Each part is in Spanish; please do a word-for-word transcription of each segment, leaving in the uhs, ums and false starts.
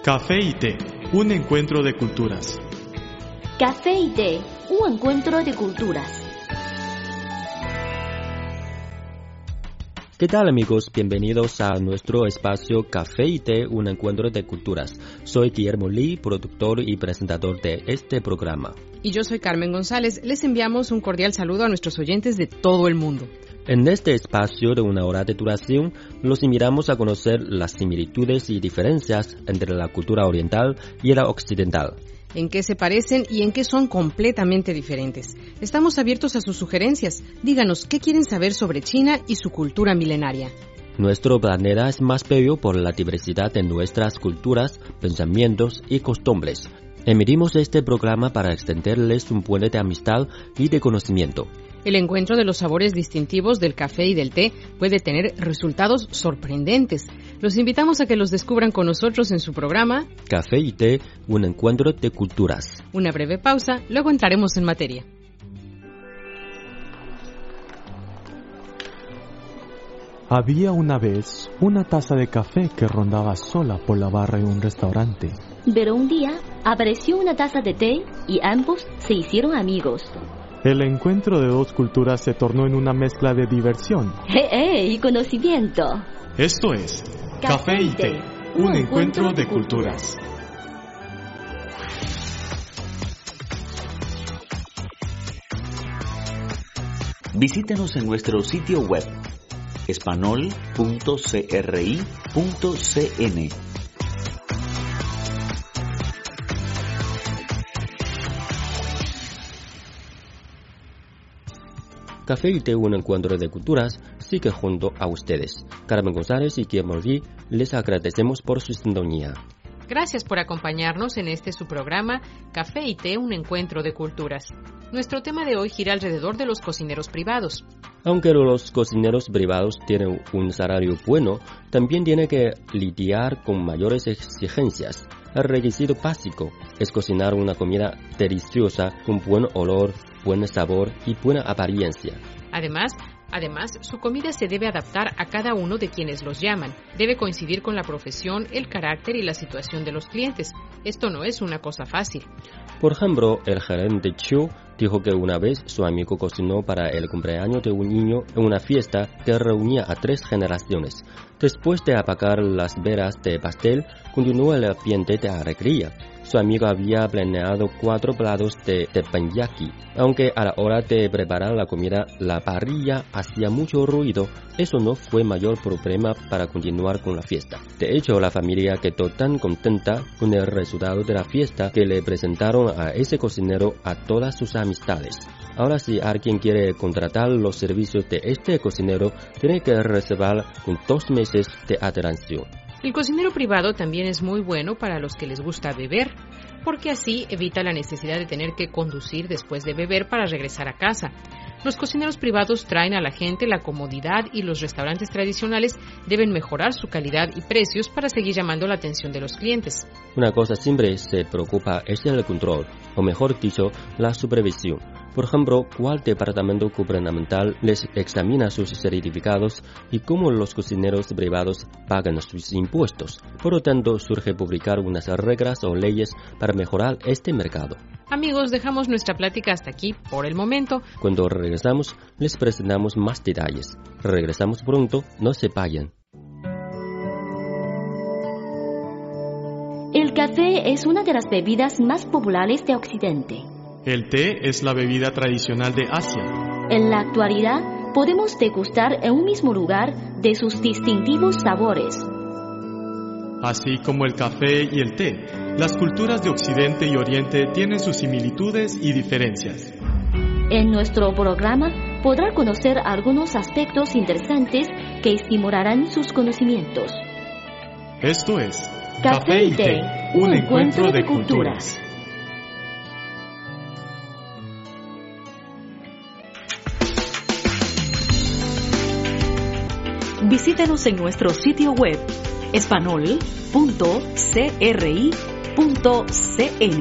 Café y té, un encuentro de culturas. Café y té, un encuentro de culturas. ¿Qué tal, amigos? Bienvenidos a nuestro espacio Café y té, un encuentro de culturas. Soy Guillermo Lee, productor y presentador de este programa. Y yo soy Carmen González. Les enviamos un cordial saludo a nuestros oyentes de todo el mundo. En este espacio de una hora de duración, los invitamos a conocer las similitudes y diferencias entre la cultura oriental y la occidental. En qué se parecen y en qué son completamente diferentes. Estamos abiertos a sus sugerencias. Díganos qué quieren saber sobre China y su cultura milenaria. Nuestro planeta es más bello por la diversidad de nuestras culturas, pensamientos y costumbres. Emitimos este programa para extenderles un puente de amistad y de conocimiento. El encuentro de los sabores distintivos del café y del té puede tener resultados sorprendentes. Los invitamos a que los descubran con nosotros en su programa Café y té, un encuentro de culturas. Una breve pausa, luego entraremos en materia. Había una vez una taza de café que rondaba sola por la barra de un restaurante. Pero un día apareció una taza de té y ambos se hicieron amigos. El encuentro de dos culturas se tornó en una mezcla de diversión. ¡Eh, eh! Y conocimiento. Esto es Café y té, un encuentro de culturas. Visítenos en nuestro sitio web espanol punto cri punto cn. Café y té, un encuentro de culturas, sigue junto a ustedes. Carmen González y Guillermo Lee, les agradecemos por su sintonía. Gracias por acompañarnos en este su programa Café y té, un encuentro de culturas. Nuestro tema de hoy gira alrededor de los cocineros privados. Aunque los cocineros privados tienen un salario bueno, también tienen que lidiar con mayores exigencias. El requisito básico es cocinar una comida deliciosa con buen olor, buen sabor y buena apariencia. Además, Además, su comida se debe adaptar a cada uno de quienes los llaman. Debe coincidir con la profesión, el carácter y la situación de los clientes. Esto no es una cosa fácil. Por ejemplo, el gerente Chiu dijo que una vez su amigo cocinó para el cumpleaños de un niño en una fiesta que reunía a tres generaciones. Después de apagar las velas de pastel, continuó el ambiente de alegría. Su amigo había planeado cuatro platos de teppanyaki. Aunque a la hora de preparar la comida, la parrilla hacía mucho ruido, eso no fue mayor problema para continuar con la fiesta. De hecho, la familia quedó tan contenta con el resultado de la fiesta que le presentaron a ese cocinero a todas sus amistades. Ahora, si alguien quiere contratar los servicios de este cocinero, tiene que reservar con dos meses de antelación. El cocinero privado también es muy bueno para los que les gusta beber, porque así evita la necesidad de tener que conducir después de beber para regresar a casa. Los cocineros privados traen a la gente la comodidad y los restaurantes tradicionales deben mejorar su calidad y precios para seguir llamando la atención de los clientes. Una cosa siempre se preocupa es el control, o mejor dicho, la supervisión. Por ejemplo, cuál departamento gubernamental les examina sus certificados y cómo los cocineros privados pagan sus impuestos. Por lo tanto, surge publicar unas reglas o leyes para mejorar este mercado. Amigos, dejamos nuestra plática hasta aquí por el momento. Cuando regresamos, les presentamos más detalles. Regresamos pronto, no se vayan. El café es una de las bebidas más populares de Occidente. El té es la bebida tradicional de Asia. En la actualidad, podemos degustar en un mismo lugar de sus distintivos sabores. Así como el café y el té, las culturas de Occidente y Oriente tienen sus similitudes y diferencias. En nuestro programa podrá conocer algunos aspectos interesantes que estimularán sus conocimientos. Esto es Café y té, un encuentro de culturas. Visítenos en nuestro sitio web espanol punto cri punto cn.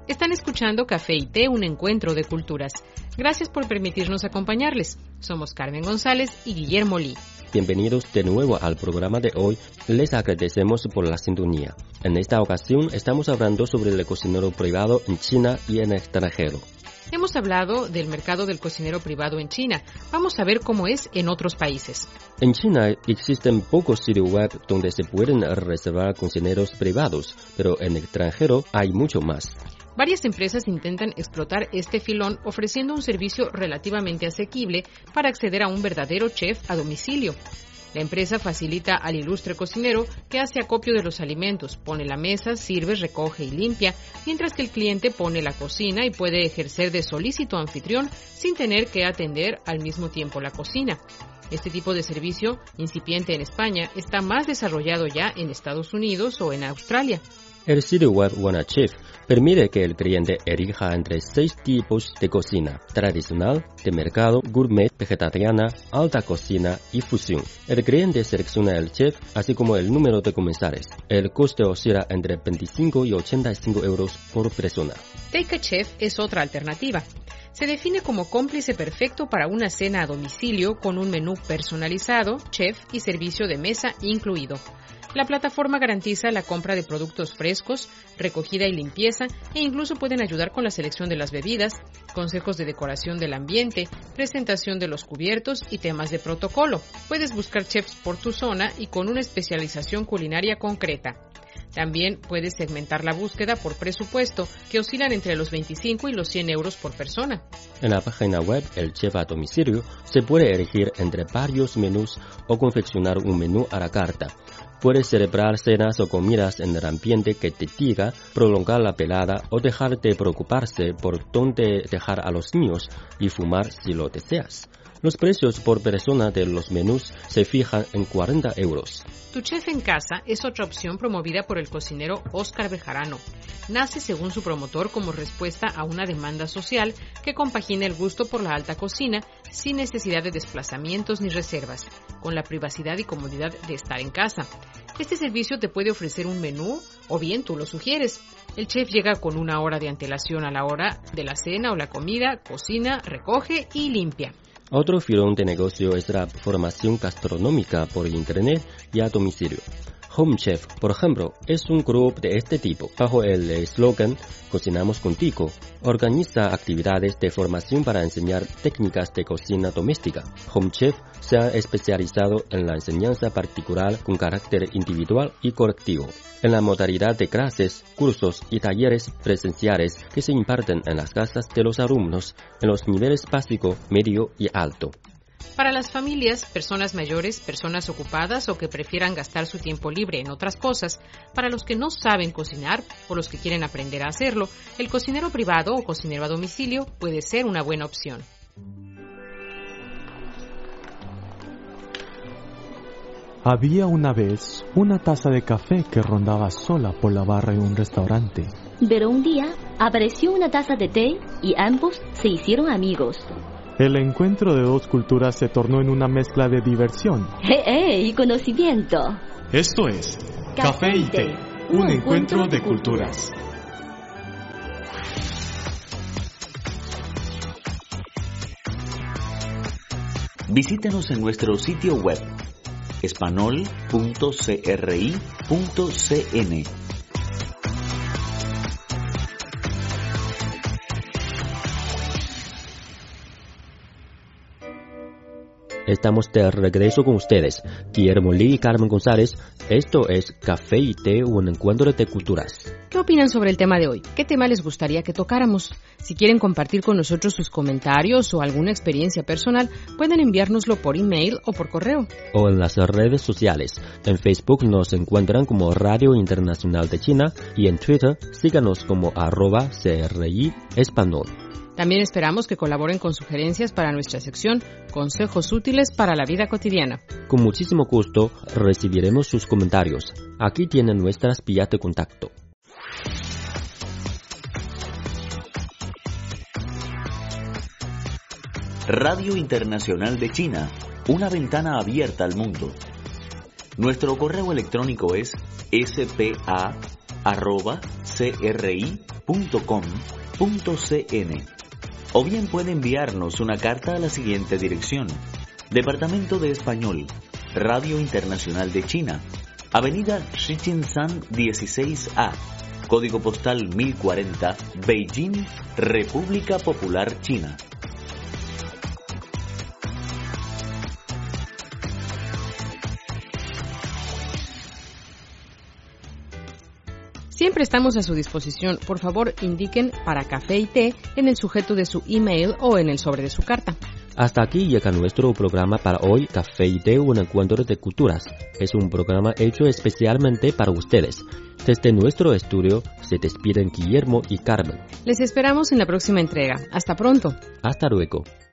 Están escuchando Café y Té, un encuentro de culturas. Gracias por permitirnos acompañarles. Somos Carmen González y Guillermo Lee. Bienvenidos de nuevo al programa de hoy. Les agradecemos por la sintonía. En esta ocasión estamos hablando sobre el cocinero privado en China y en el extranjero. Hemos hablado del mercado del cocinero privado en China. Vamos a ver cómo es en otros países. En China existen pocos sitios web donde se pueden reservar cocineros privados, pero en el extranjero hay mucho más. Varias empresas intentan explotar este filón ofreciendo un servicio relativamente asequible para acceder a un verdadero chef a domicilio. La empresa facilita al ilustre cocinero que hace acopio de los alimentos, pone la mesa, sirve, recoge y limpia, mientras que el cliente pone la cocina y puede ejercer de solícito anfitrión sin tener que atender al mismo tiempo la cocina. Este tipo de servicio, incipiente en España, está más desarrollado ya en Estados Unidos o en Australia. El sitio web WannaChef permite que el cliente elija entre seis tipos de cocina: tradicional, de mercado, gourmet, vegetariana, alta cocina y fusión. El cliente selecciona el chef, así como el número de comensales. El coste oscila entre veinticinco y ochenta y cinco euros por persona. Take a Chef es otra alternativa. Se define como cómplice perfecto para una cena a domicilio con un menú personalizado, chef y servicio de mesa incluido. La plataforma garantiza la compra de productos frescos, recogida y limpieza, e incluso pueden ayudar con la selección de las bebidas, consejos de decoración del ambiente, presentación de los cubiertos y temas de protocolo. Puedes buscar chefs por tu zona y con una especialización culinaria concreta. También puedes segmentar la búsqueda por presupuesto, que oscilan entre los veinticinco y los cien euros por persona. En la página web El Chef a Domicilio se puede elegir entre varios menús o confeccionar un menú a la carta. Puedes celebrar cenas o comidas en el ambiente que te diga, prolongar la velada o dejar de preocuparse por dónde dejar a los niños y fumar si lo deseas. Los precios por persona de los menús se fijan en cuarenta euros. Tu Chef en Casa es otra opción promovida por el cocinero Óscar Bejarano. Nace, según su promotor, como respuesta a una demanda social que compagina el gusto por la alta cocina sin necesidad de desplazamientos ni reservas, con la privacidad y comodidad de estar en casa. Este servicio te puede ofrecer un menú o bien tú lo sugieres. El chef llega con una hora de antelación a la hora de la cena o la comida, cocina, recoge y limpia. Otro filón de negocio es la formación gastronómica por internet y a domicilio. Home Chef, por ejemplo, es un grupo de este tipo. Bajo el eslogan Cocinamos contigo, organiza actividades de formación para enseñar técnicas de cocina doméstica. Home Chef se ha especializado en la enseñanza particular con carácter individual y colectivo, en la modalidad de clases, cursos y talleres presenciales que se imparten en las casas de los alumnos en los niveles básico, medio y alto. Para las familias, personas mayores, personas ocupadas o que prefieran gastar su tiempo libre en otras cosas, para los que no saben cocinar o los que quieren aprender a hacerlo, el cocinero privado o cocinero a domicilio puede ser una buena opción. Había una vez una taza de café que rondaba sola por la barra de un restaurante. Pero un día apareció una taza de té y ambos se hicieron amigos. El encuentro de dos culturas se tornó en una mezcla de diversión. ¡Eh, eh! Y conocimiento. Esto es Café y Té, un encuentro de culturas. Visítenos en nuestro sitio web espanol punto cri punto cn. Estamos de regreso con ustedes, Guillermo Lee y Carmen González. Esto es Café y Té, un encuentro de culturas. ¿Qué opinan sobre el tema de hoy? ¿Qué tema les gustaría que tocáramos? Si quieren compartir con nosotros sus comentarios o alguna experiencia personal, pueden enviárnoslo por email o por correo. O en las redes sociales. En Facebook nos encuentran como Radio Internacional de China y en Twitter síganos como arroba CRI Español. También esperamos que colaboren con sugerencias para nuestra sección Consejos útiles para la vida cotidiana. Con muchísimo gusto recibiremos sus comentarios. Aquí tienen nuestras vías de contacto. Radio Internacional de China, una ventana abierta al mundo. Nuestro correo electrónico es s p a arroba c r i punto com punto c n. O bien puede enviarnos una carta a la siguiente dirección: Departamento de Español, Radio Internacional de China, Avenida Shijingshan dieciséis A, Código Postal mil cuarenta, Beijing, República Popular China. Siempre estamos a su disposición. Por favor, indiquen para café y té en el sujeto de su email o en el sobre de su carta. Hasta aquí llega nuestro programa para hoy, Café y Té, un encuentro de culturas. Es un programa hecho especialmente para ustedes. Desde nuestro estudio se despiden Guillermo y Carmen. Les esperamos en la próxima entrega. Hasta pronto. Hasta luego.